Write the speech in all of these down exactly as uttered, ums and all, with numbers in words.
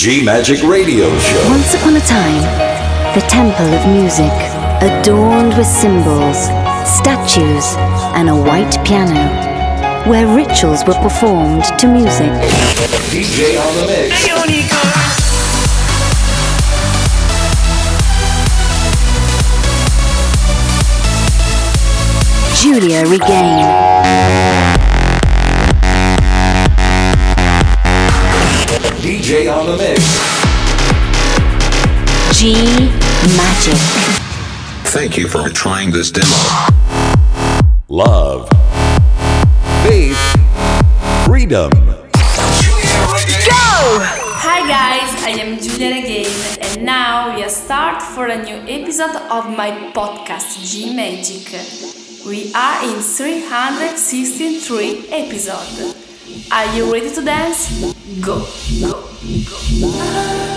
G-Magic Radio Show. Once upon a time, the temple of music, adorned with symbols, statues, and a white piano, where rituals were performed to music. D J on the mix. Giulia Regain. D J on the mix. G-Magic. Thank you for trying this demo. Love. Faith. Freedom. Go! Hi guys, I am Giulia Regain and now we are start for a new episode of my podcast G-Magic. We are in three hundred sixty-three episode. Are you ready to dance? Go, go, go.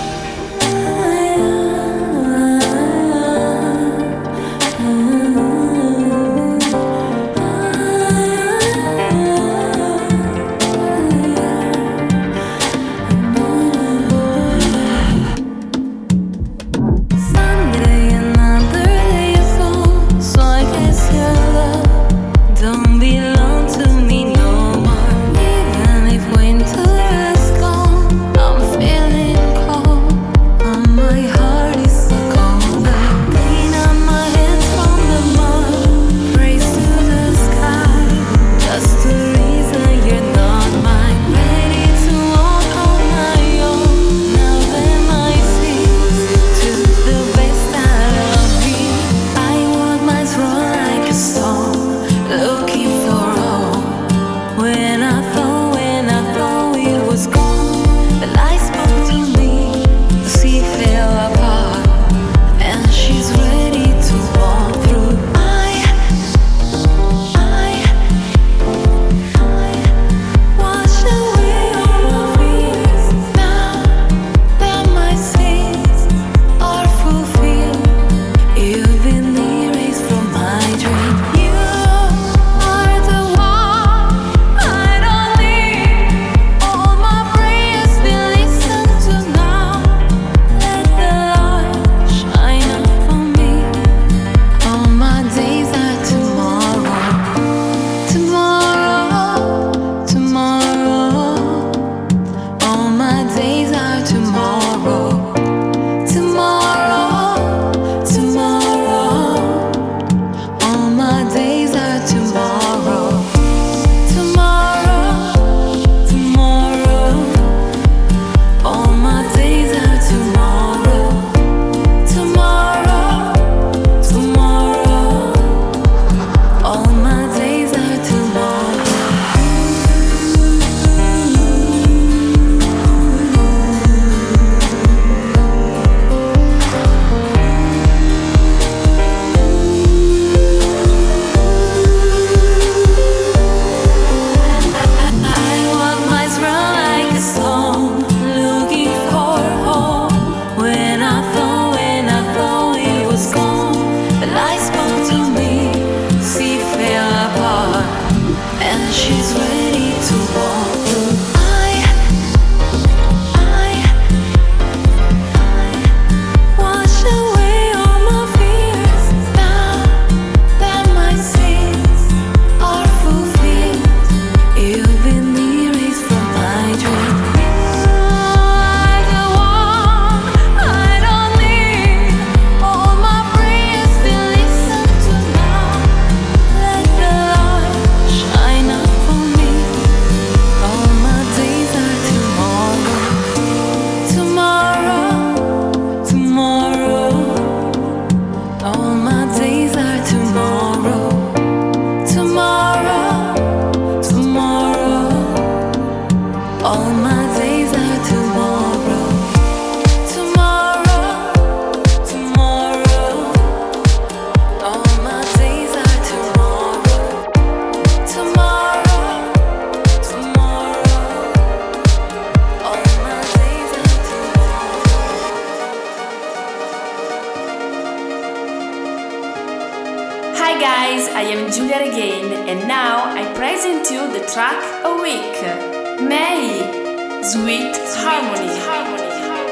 Hi guys, I am Giulia Regain and now I present you the track A Week, May, Sweet Harmony. Harmony.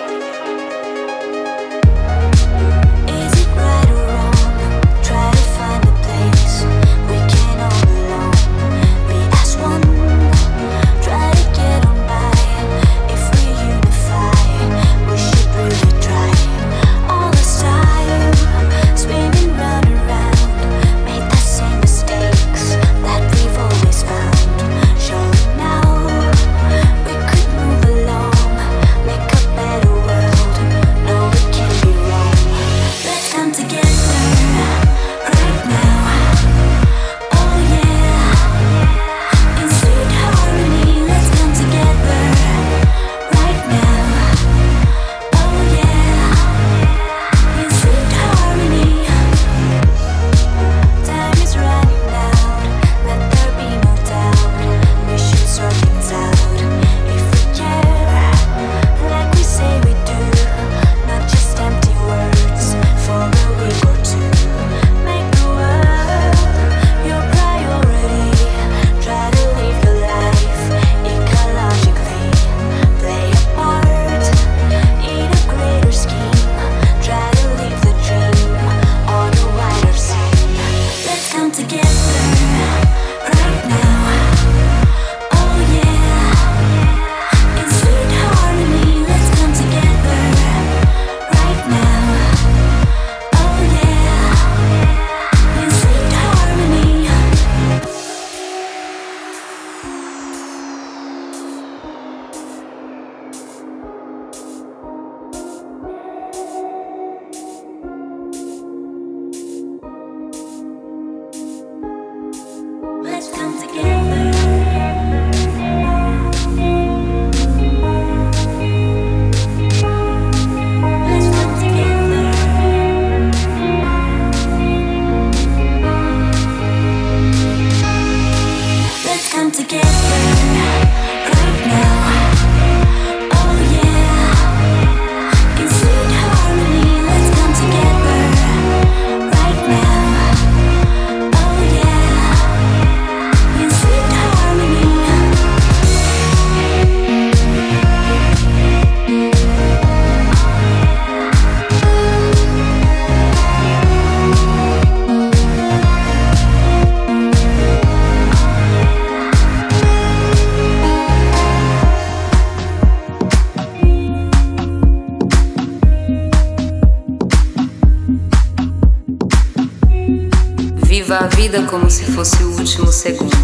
vida como se fosse o último segundo.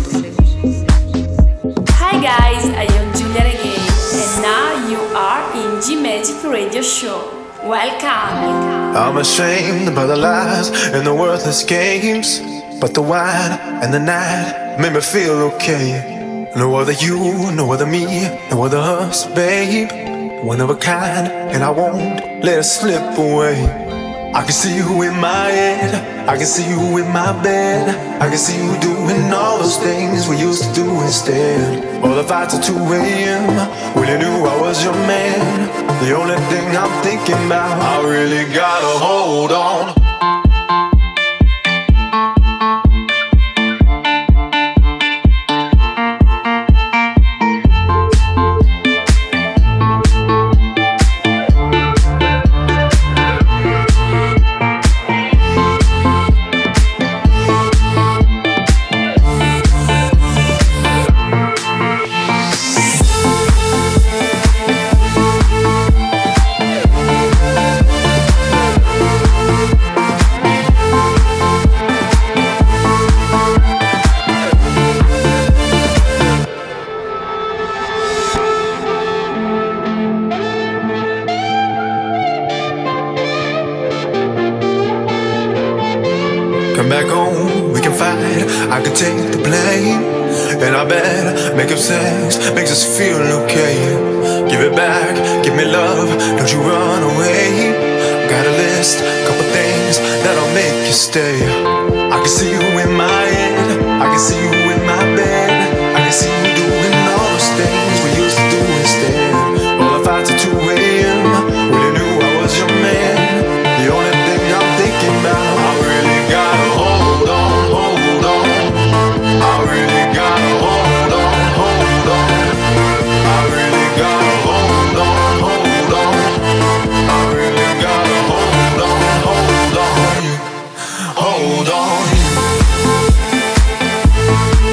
Hi guys, I am Giulia Regain and now you are in G-Magic Radio Show. Welcome! I'm ashamed by the lies and the worthless games, but the wine and the night made me feel okay. No other you, no other me, no other us, babe. One of a kind, and I won't let it slip away. I can see you in my head, I can see you in my bed, I can see you doing all those things we used to do instead. All the fights at two a.m. when you knew I was your man. The only thing I'm thinking about, I really gotta hold on. I can take the blame, and I bet making sex makes us feel okay. Give it back, give me love, don't you run away. Got a list, couple things that'll make you stay. I can see you in my head, I can see you in my bed, I can see you doing all those things we used to do instead. All the fights at two a.m. when you knew I was your man. The only thing I'm thinking about, I really gotta hold on, hold on. I really gotta hold on, hold on. I really gotta hold on, hold on. I really gotta hold on, hold on. Hold on.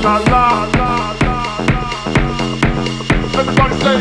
La la la. Everybody say.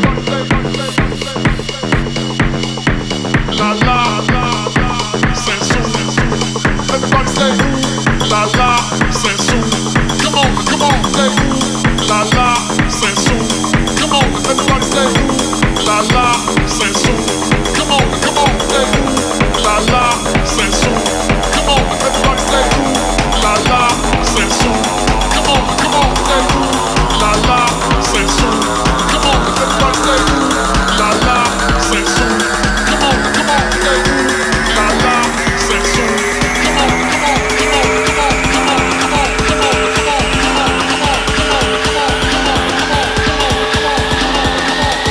La la la. Sensu. Everybody say. La la. Sensu. Come on, come on, say. La la. Sensu. Come on, everybody say. La la. Sensu. Come on, come on, say. La la. Sensu. Come on, everybody say. La la. Sensu. Come on, come on, say. La la. Sensu. Come on, everybody say. La la. Sensu. Come on, come on, say. La la. Sensu. Come on, come on, come on, come on, come on, come on, come on, come on, come on, come on, come on, come on, come on, come on, come on, come on, come on.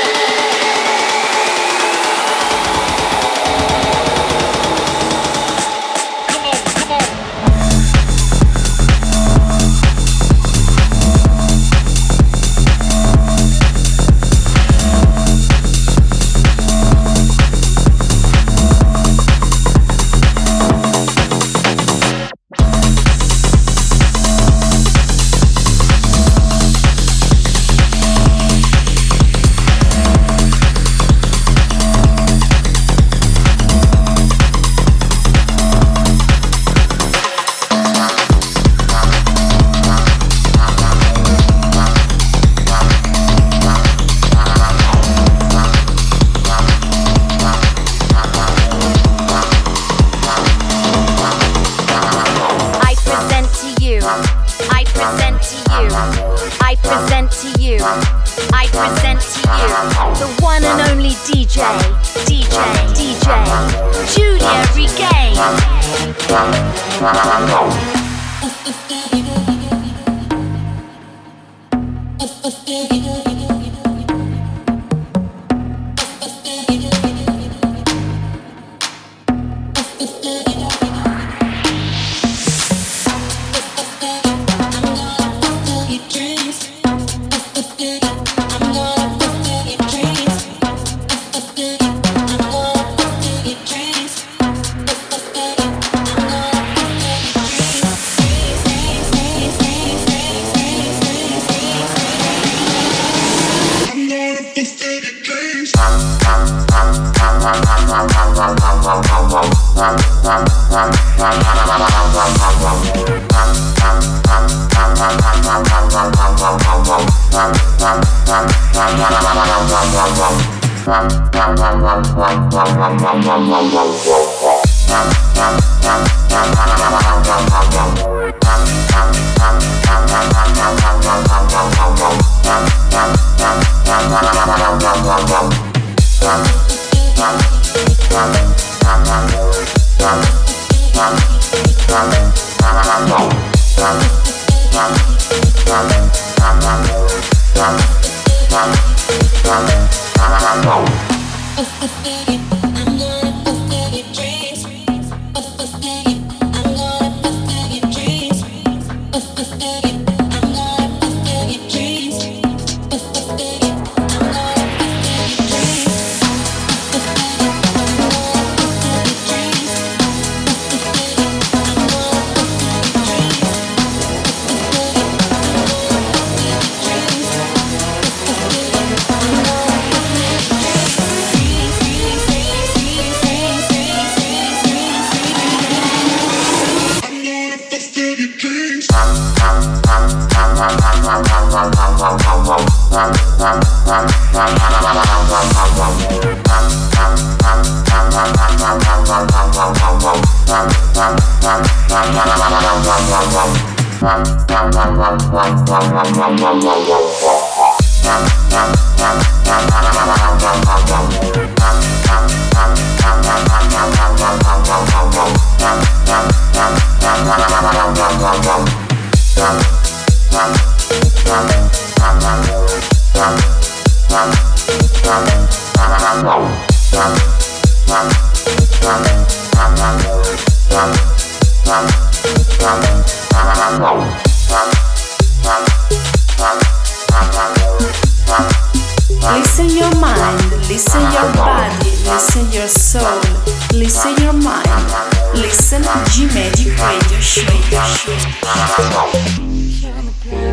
Listen your mind, listen your body, listen your soul, listen your mind, listen G-Magic Radio Show.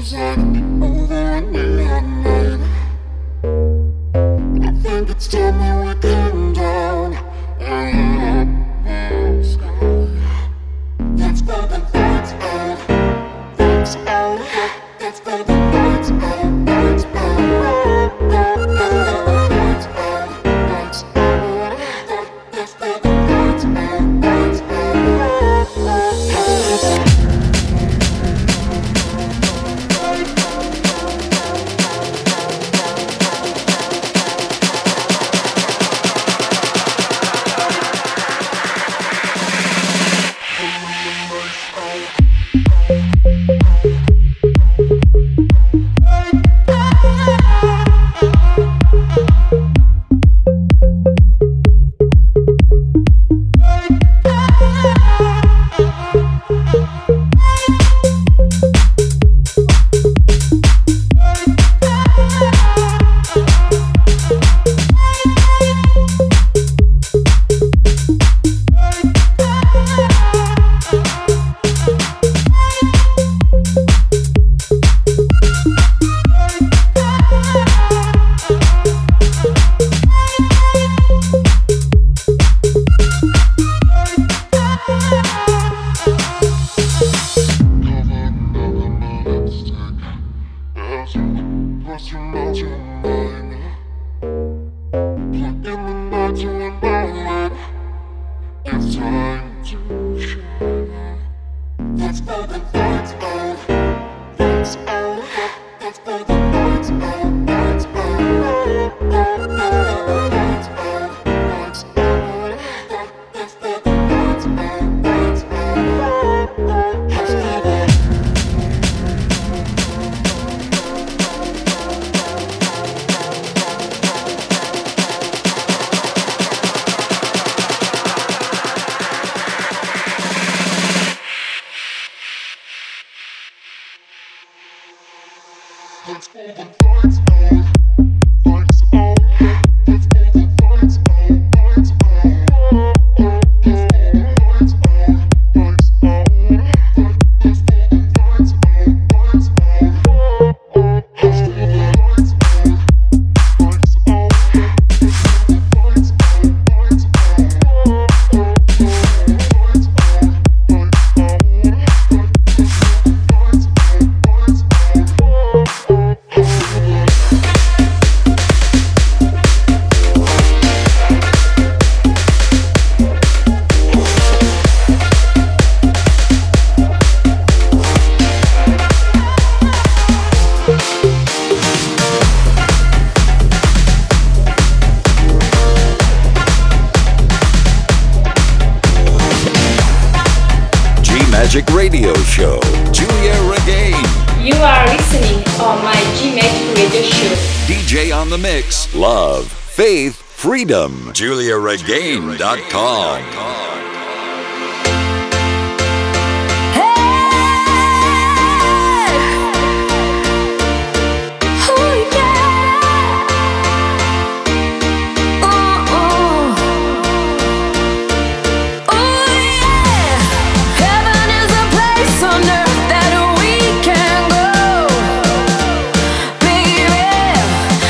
Magic Radio Show. Giulia Regain. You are listening on my G Magic Radio Show. D J on the mix. Love, faith, freedom. Giulia Regain dot com.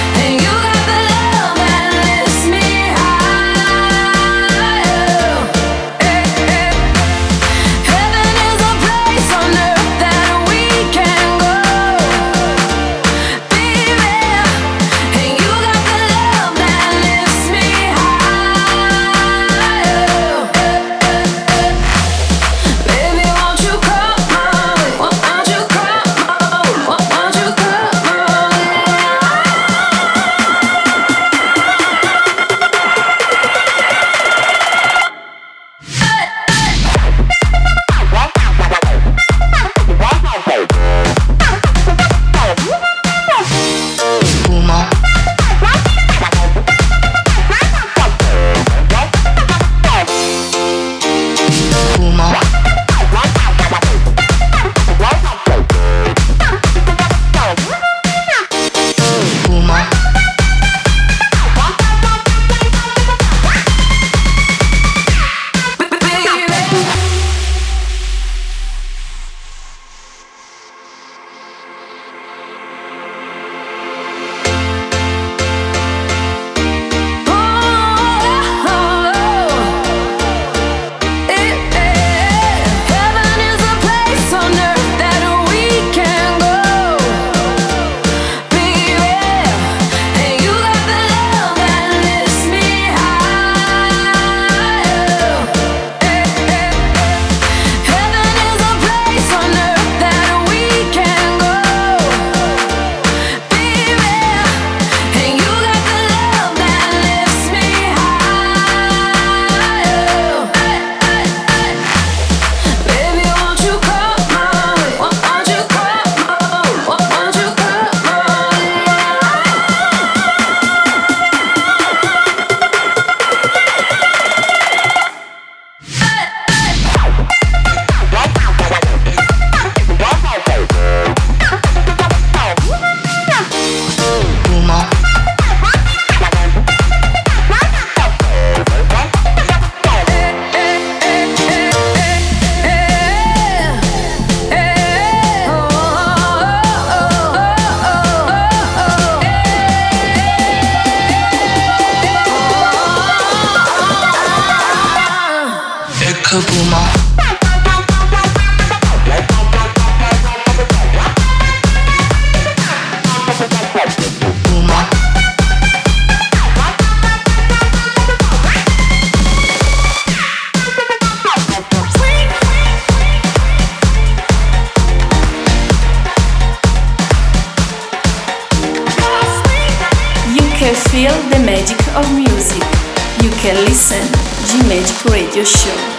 Higher. of music. You can listen G-Magic Radio Show.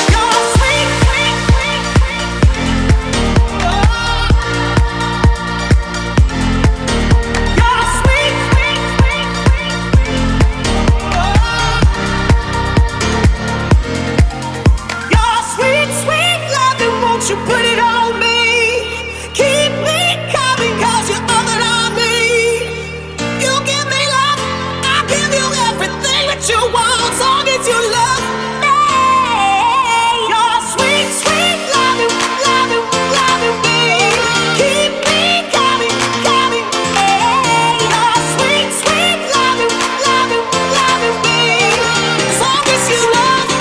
You put it on me, keep me coming, cause you're all that I need. You give me love, I give you everything that you want, as long as you love me. Your sweet, sweet loving, loving, loving me. Keep me coming, coming, hey. Your sweet, sweet loving, loving, loving me, as long as you love me.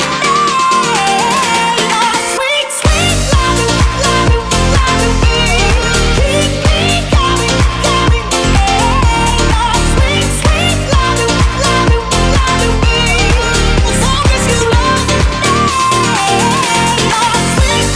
Your sweet, sweet loving, loving, loving me. Keep me coming, coming, hey. Your sweet, sweet loving, loving, loving me, as long as you love me. Your sweet,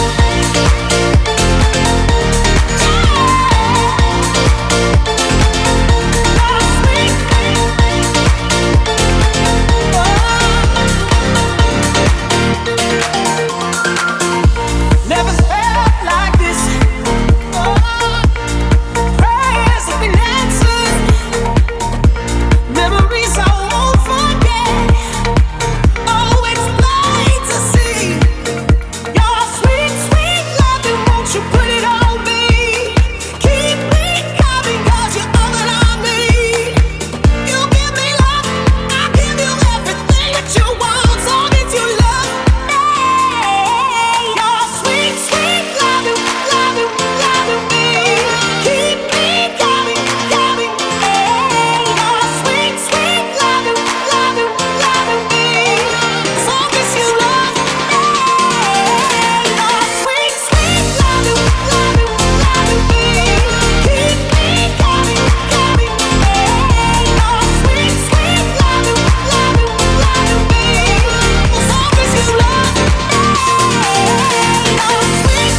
never felt like this. Prayers have been answered. Memories I won't forget. Always plain to see. Your sweet, sweet loving, won't you put it on me? Keep me coming, cause you're all that I need. You give me love, I give you everything that you want, as long as you love me. Your sweet, sweet loving, loving, loving me. Keep me coming, coming, hey. Your sweet, sweet loving, loving, loving me, as long as you love me. Your sweet, sweet loving, loving, loving me. Keep me coming, coming, hey. Your sweet, sweet loving, loving, loving me, as long as you love me. Your sweet,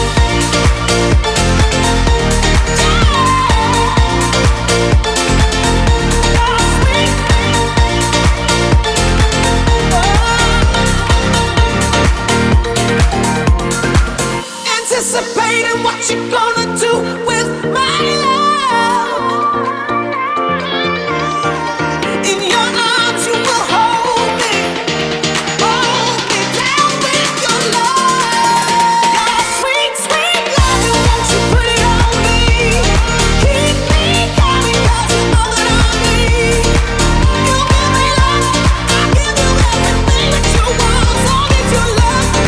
anticipating what you're gonna do with my love. In your arms you will hold me, hold me down with your love. Your sweet, sweet loving, won't you put it on me? Keep me coming, cause you're all that I need. You give me love, I give you everything that you want, as long as you love me.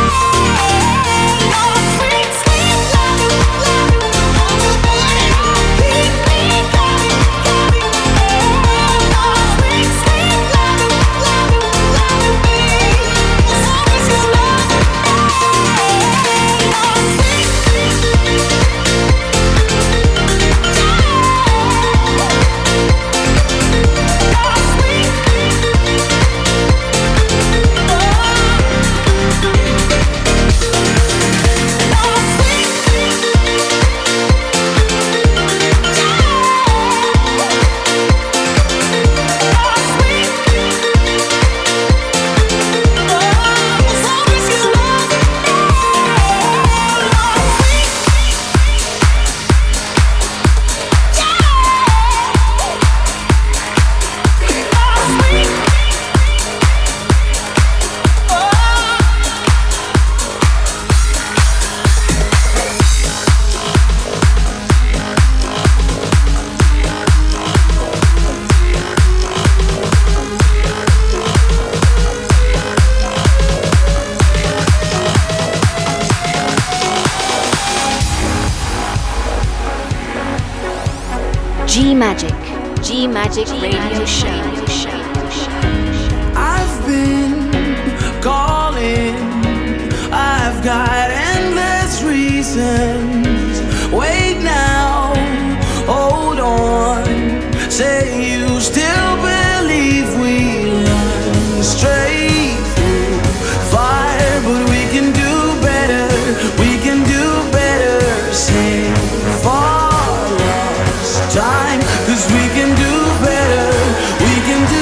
Your sweet, sweet loving, loving, won't you put it on? Keep me coming, coming, hey. Your sweet, sweet loving, loving, loving me, as long as you love me. Your sweet, G-Magic, G-Magic Radio Show. I've been calling, I've got endless reasons. Wait now, hold on. Say you still believe we run straight through fire, but we can do better, we can do better. Save our lost time, 'cause we can do better, we can do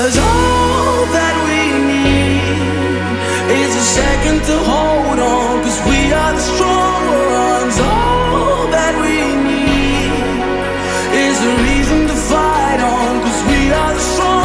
'Cause all that we need is a second to hold on, 'cause we are the strong ones. All that we need is a reason to fight on, 'cause we are the strong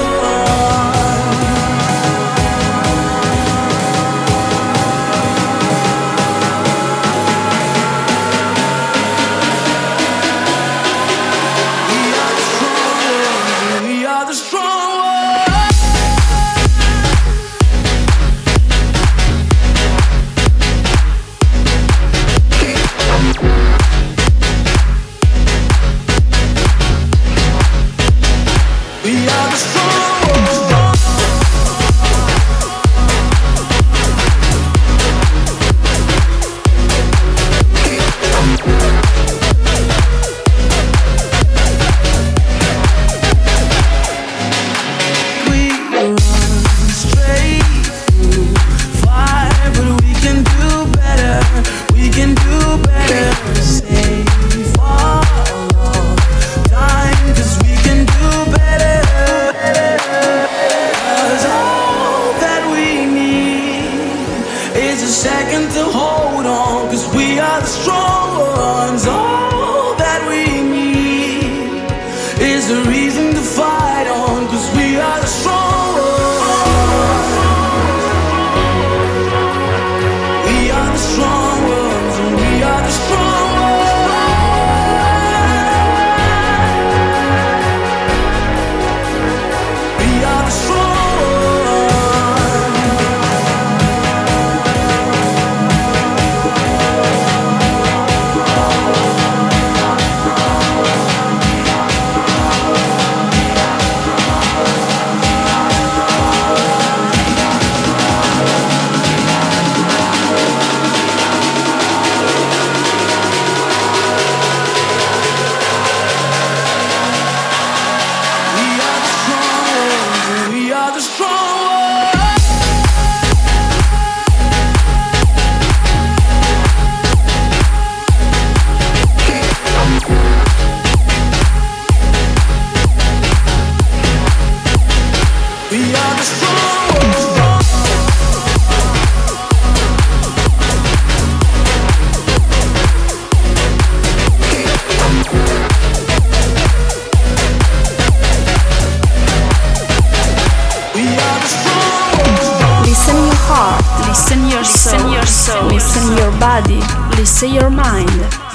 Say your mind.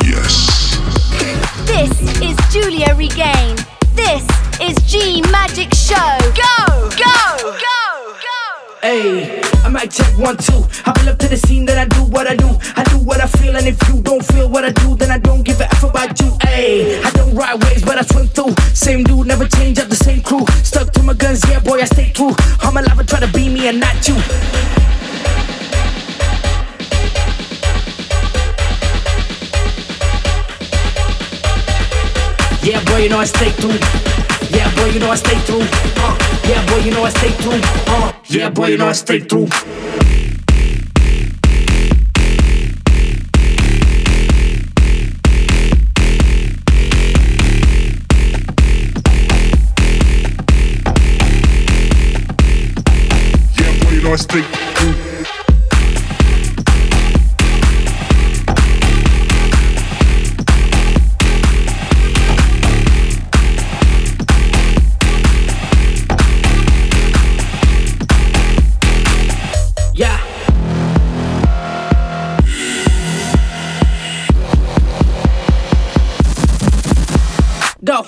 Yes. This is Julia Regain. This is G Magic Show. Go, go, go, go. Hey, I might check one, two. I pull up to the scene, then I do what I do. I do what I feel, and if you don't feel what I do, then I don't give a F about you. Hey, I don't ride waves, but I swim through. Same dude, never change up the same crew. Stuck to my guns, yeah, boy, I stay true. I'm alive and try to be me and not you. Yeah, boy, you know I stay through. Yeah, boy, you know I stay through. Uh, yeah, boy, you know I stay through. Uh, yeah, boy, you know I stay through. Yeah, boy, you know I stay through. Go.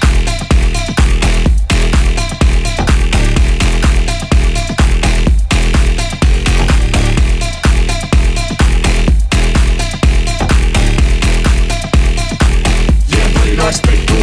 Yeah, boy, you know I stay through.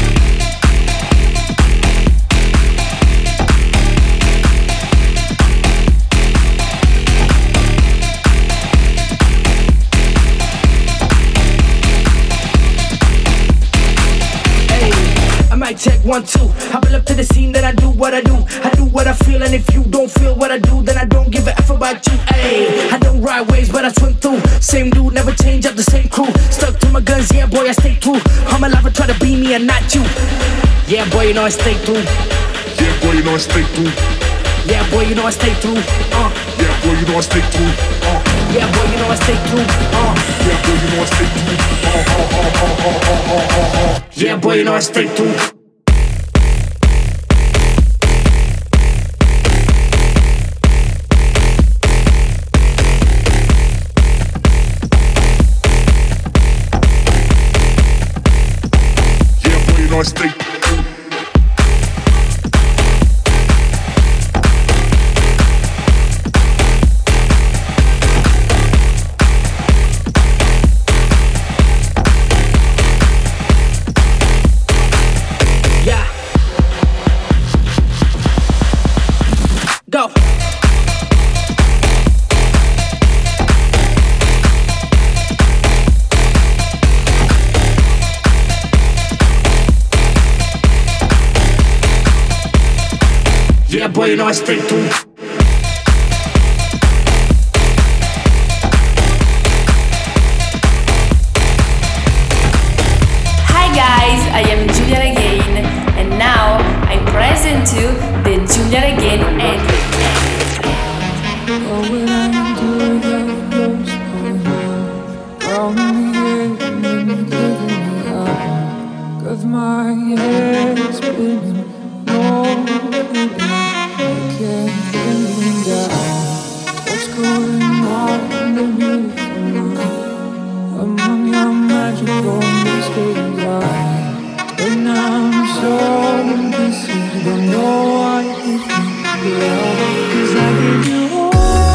Check one, two. I pull up to the scene, then I do what I do. I do what I feel, and if you don't feel what I do, then I don't give a F about you. Ayy, I don't ride waves, but I swim through. Same dude, never change up the same crew. Stuck to my guns, yeah, boy, I stay true. I'm alive and try to be me and not you. Yeah, boy, you know I stay through. Yeah, boy, you know I stay through. Yeah, boy, you know I stay through. Uh. Yeah, boy, you know I stay through. Uh. Yeah, boy, you know I stay through. Uh. Yeah, boy, you know I stay through. Uh, uh, uh, uh, uh, uh, uh, uh. Yeah, boy, you know I stay through. I stay yeah. Go. Yeah, boy, you know I stay through. Hi guys, I am Giulia Regain, and now I present you the Giulia Regain edit. Oh, when I do get close to you, round me and then taking me out, 'cause my head is spinning, no. I can't think down. What's going on underneath the moon? Among your magical mysteries, and I'm so indecisive. Don't know what you think, girl, 'cause I give you all.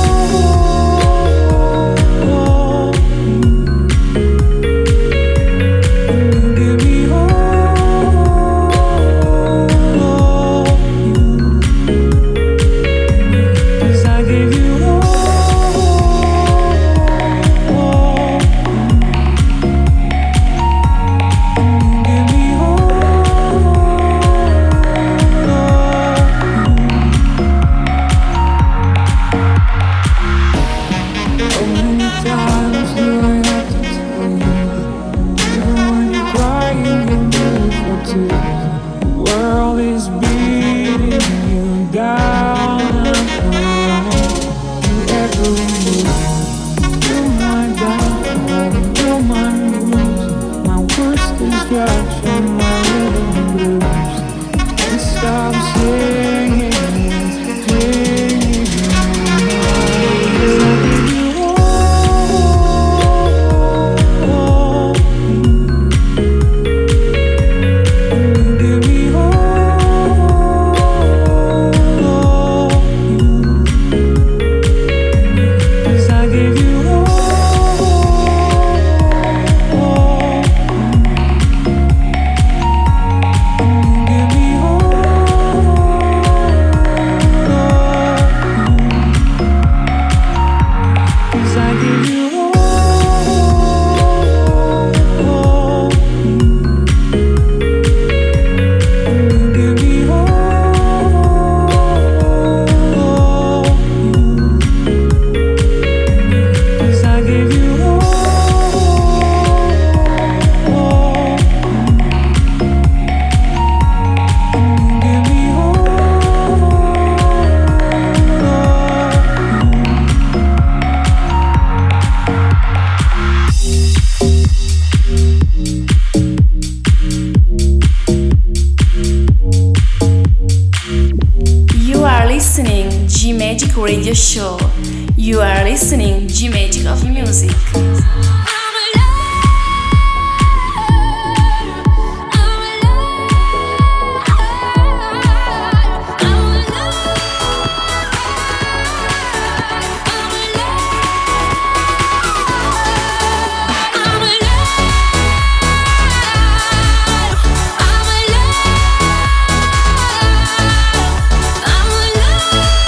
Radio show. You are listening G-Magic of Music.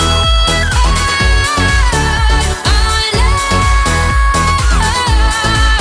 I'm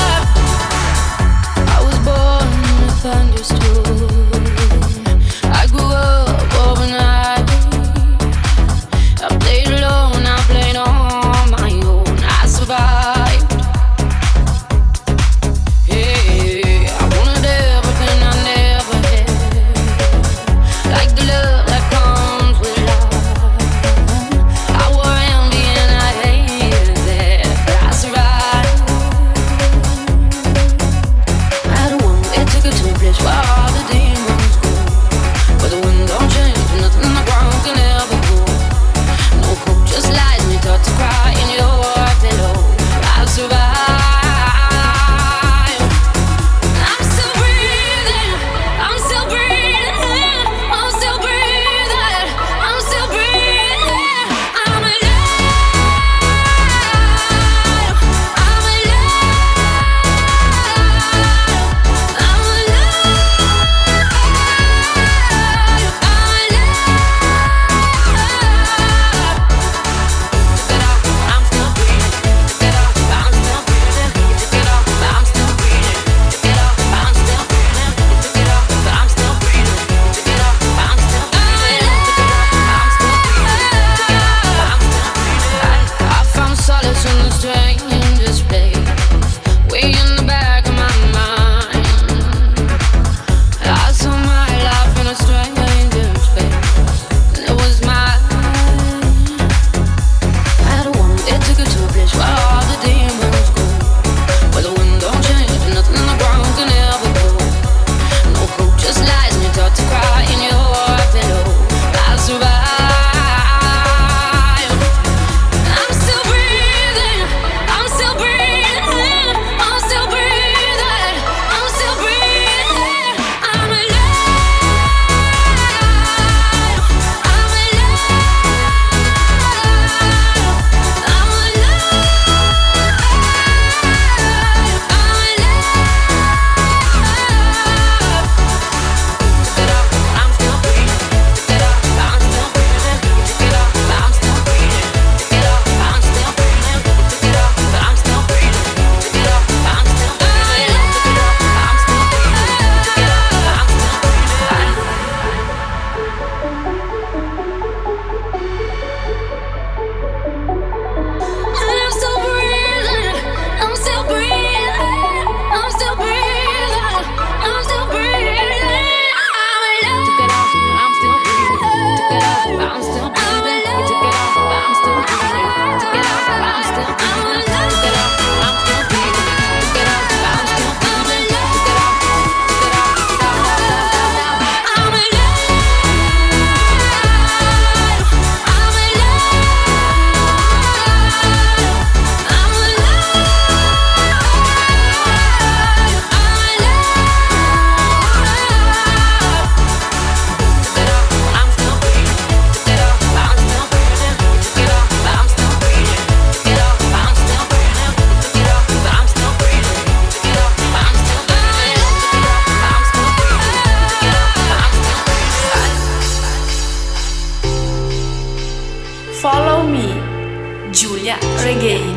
Follow Me, Giulia Regain.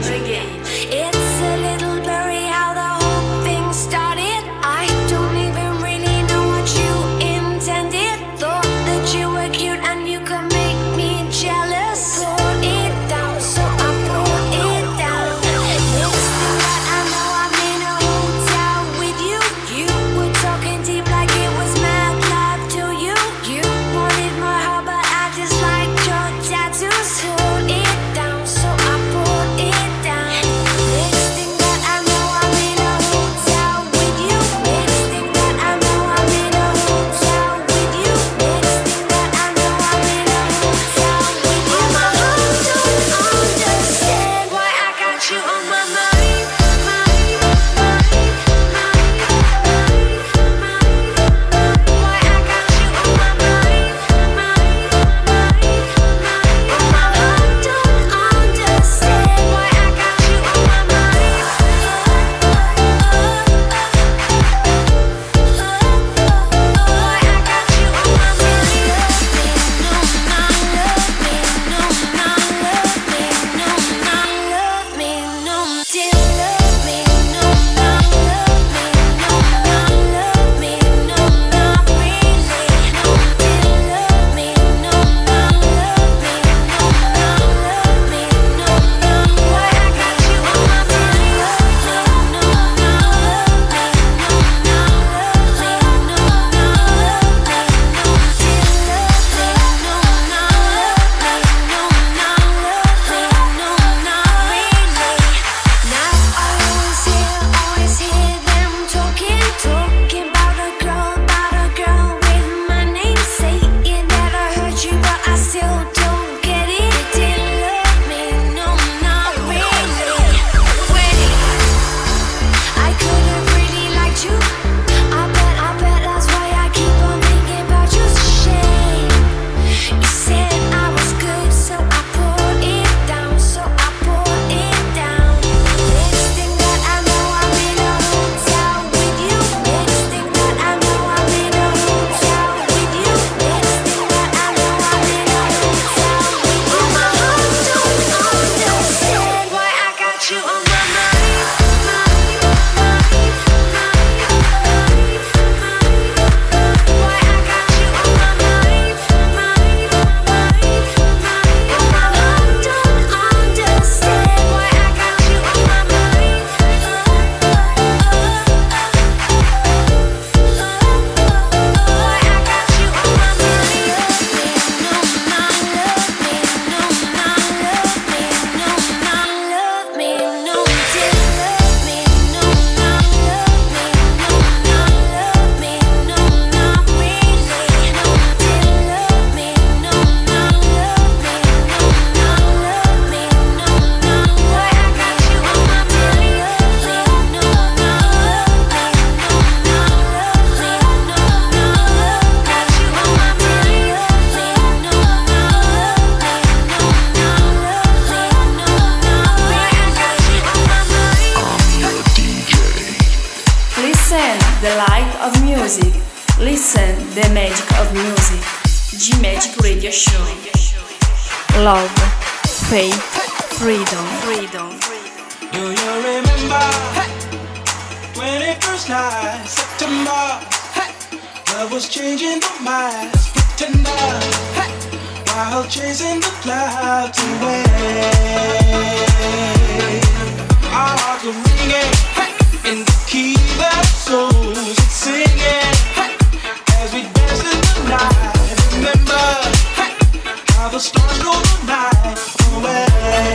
It's a little blurry how the whole thing started. I don't even really know what you intended. Thought that you were cute and you could make me jealous. Put it down, so I put it down. Next thing that I know, I'm in a hotel with you. You were talking deep like it was mad love to you. You wanted my heart, but I just liked your tattoos. Put it down, so I put it down. Next thing that the light of music. Listen the magic of music. G-Magic Radio Show. Love, faith, freedom, freedom. Do you remember when it first night, September? Love was changing the minds, pretender, while chasing the clouds away. Our hearts were ringing in the key that souls are singing as we dance in the night. Remember how the stars go the night away.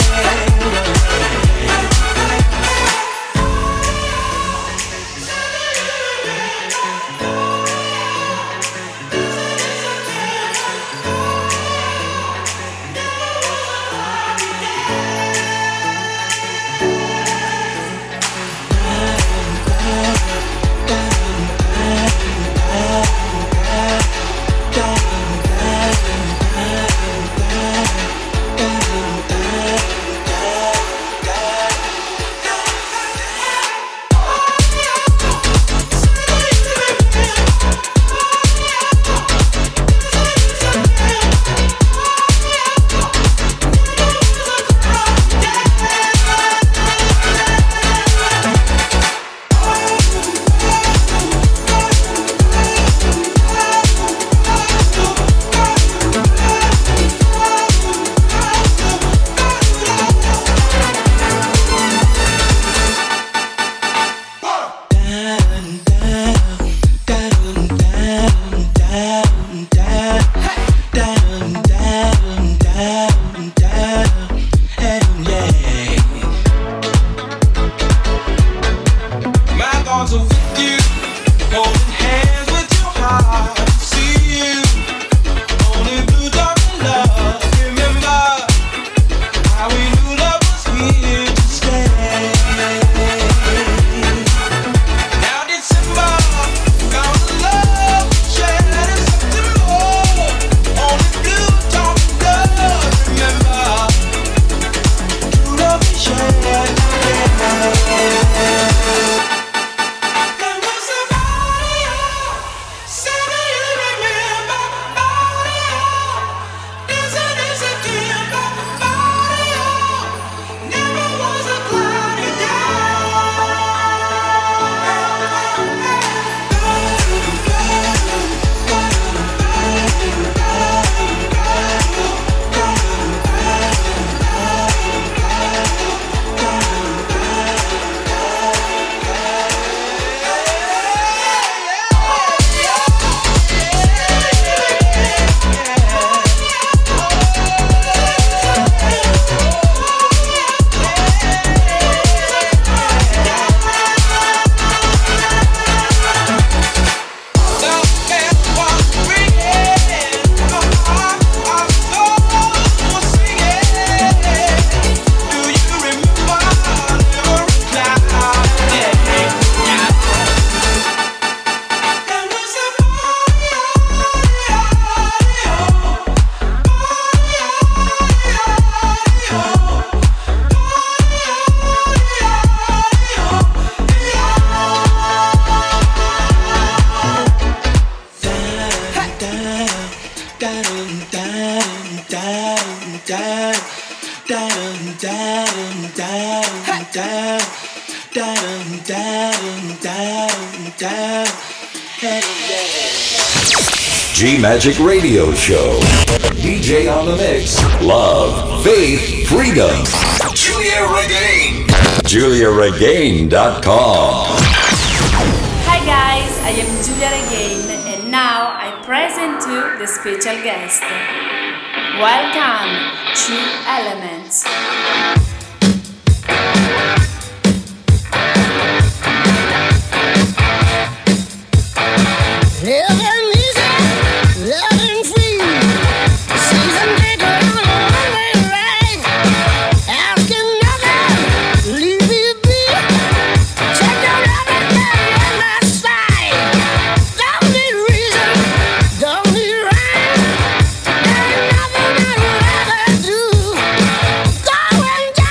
G-Magic Radio Show. D J on the mix. Love, faith, freedom. Julia Regain. Julia Regain dot com. Hi guys, I am Julia Regain and now I present you the special guest. Welcome to Elements. Going down.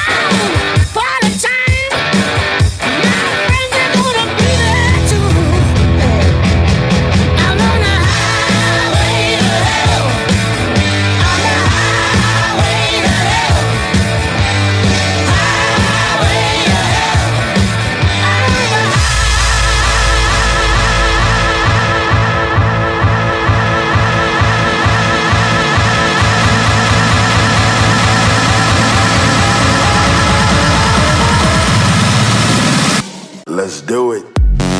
Let's do it.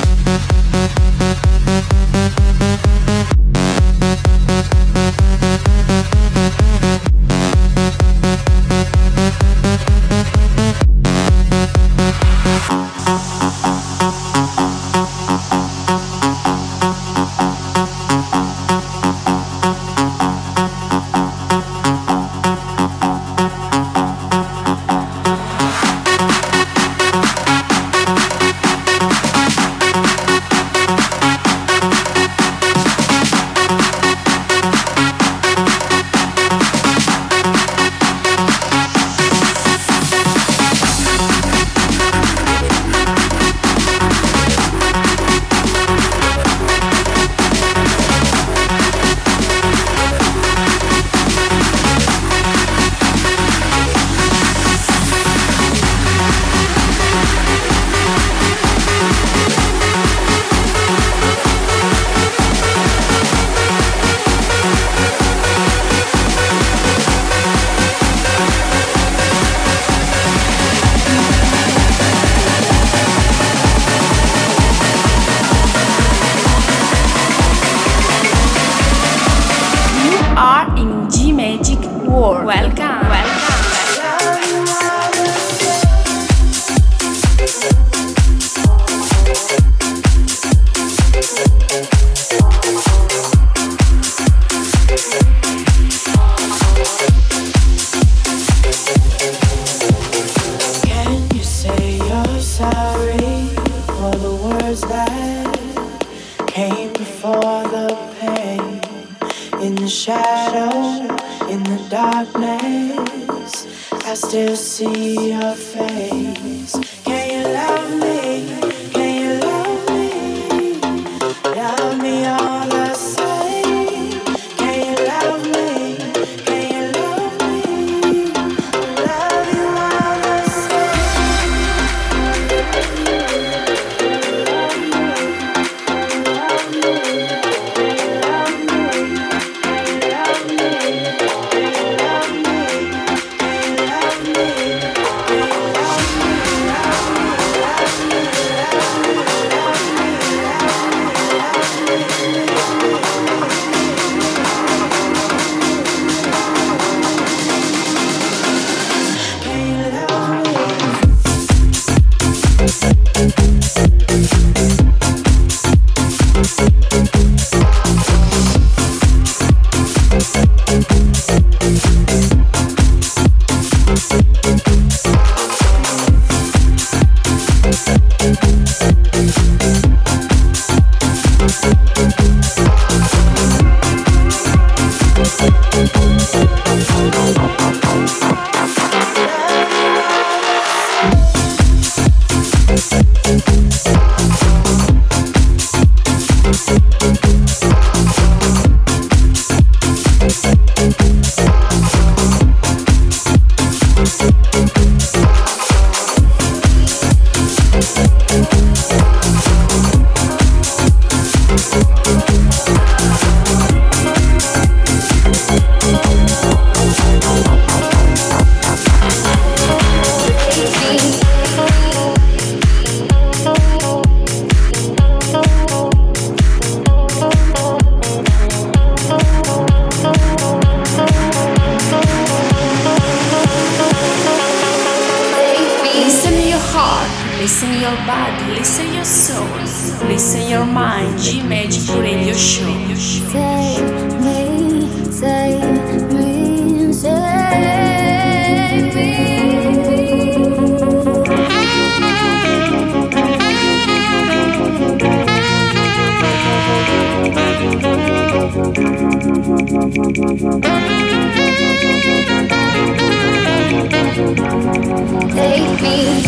Take me.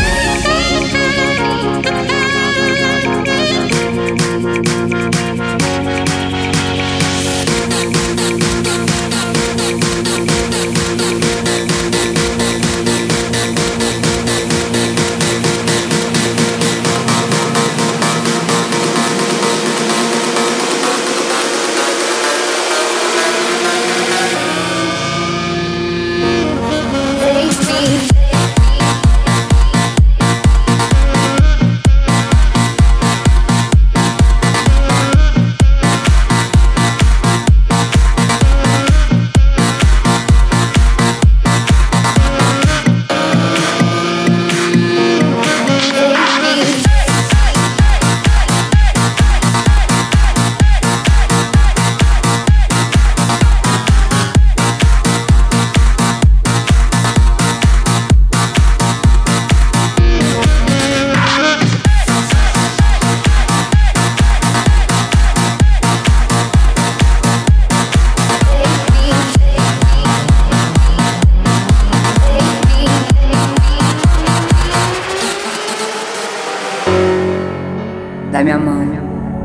la mia mano.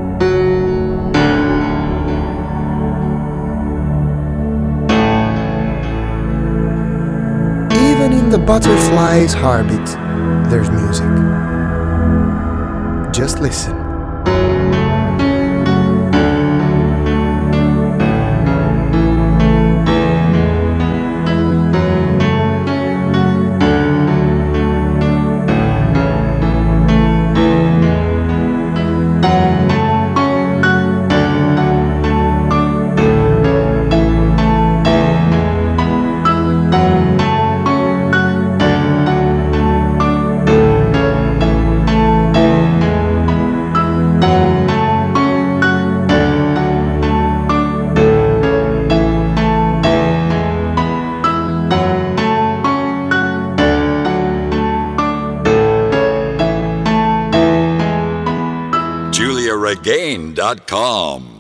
Even in the butterfly's heartbeat, there's music. Just listen. Julia Regain dot com